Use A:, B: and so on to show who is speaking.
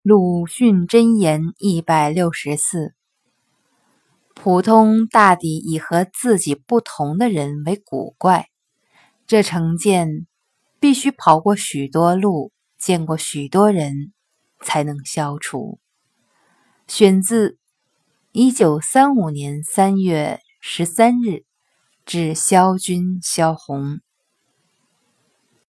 A: 鲁迅箴言164：普通大抵以和自己不同的人为古怪，这成见必须跑过许多路，见过许多人，才能消除。选自1935年3月13日，致萧军萧红。